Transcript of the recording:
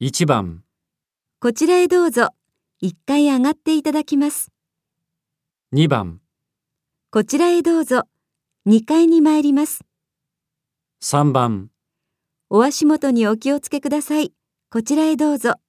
1番、 こちらへどうぞ。1階上がっていただきます。 2番、 こちらへどうぞ。2階に参ります。 3番。 お足元にお気をつけください。こちらへどうぞ。